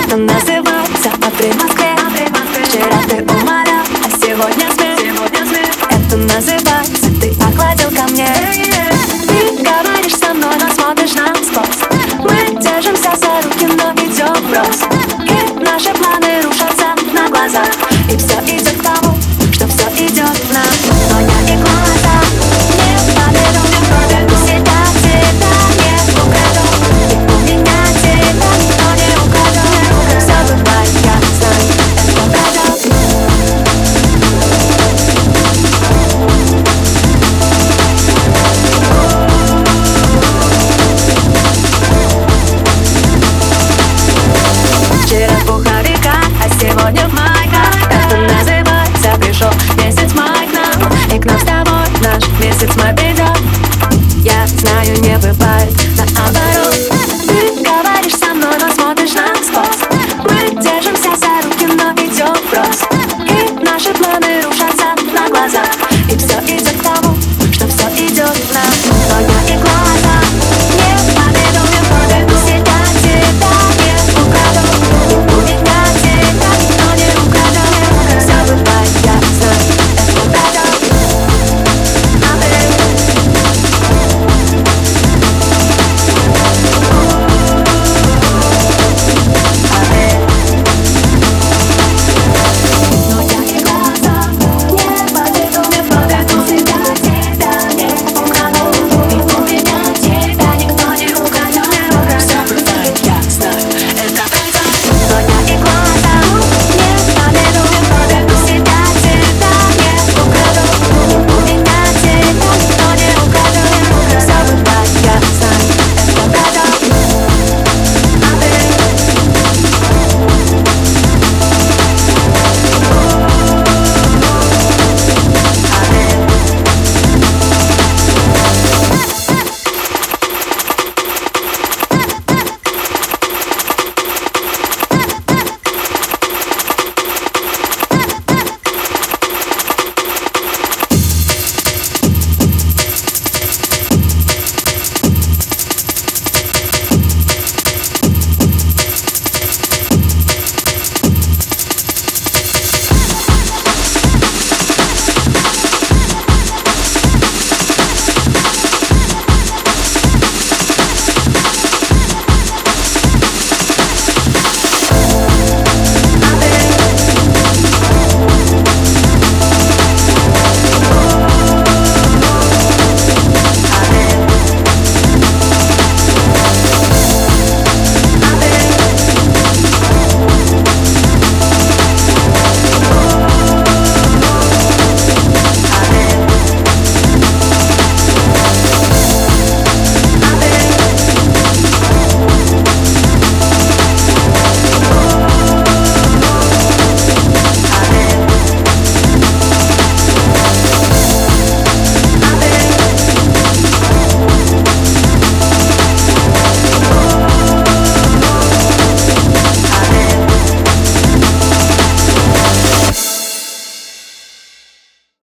Это называется «Апрель в Москве». Вчера ты умолял, а сегодня смех. Это называется «Ты охладил ко мне». Ты говоришь со мной, но смотришь насквозь. Мы держимся за руки, но идем врозь. И наши планы рушатся на глазах. И все идет к тому, что все идет в нас. Но я и глаза не подведу. Себя не украду. И у меня тебя никто не украдет. Все бывает, я знаю, это пройдет. Вчера в пуховиках, а сегодня в майках. Это называется «Пришел месяц май к нам». И к нам с тобой наш месяц мобильный.